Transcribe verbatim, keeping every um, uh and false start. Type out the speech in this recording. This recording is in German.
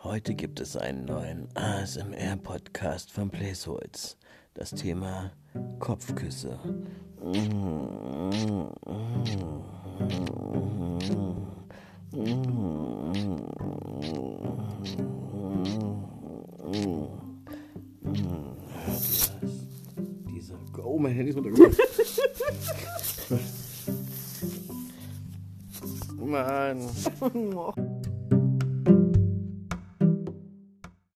Heute gibt es einen neuen A S M R-Podcast von Placeholz. Das Thema Kopfküsse. Dieser Oh, mein Handy ist runtergefallen. Mann.